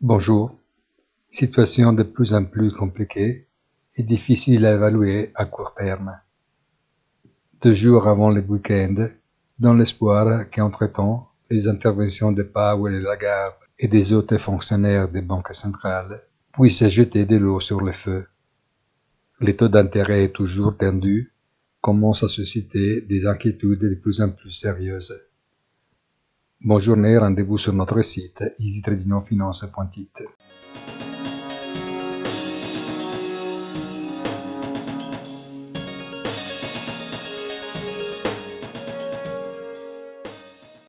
Bonjour. Situation de plus en plus compliquée et difficile à évaluer à court terme. 2 jours avant le week-end, dans l'espoir qu'entre-temps, les interventions de Powell et Lagarde et des autres fonctionnaires des banques centrales puissent jeter de l'eau sur le feu. Les taux d'intérêt toujours tendus commencent à susciter des inquiétudes de plus en plus sérieuses. Bonne journée, rendez-vous sur notre site easy-finance.it.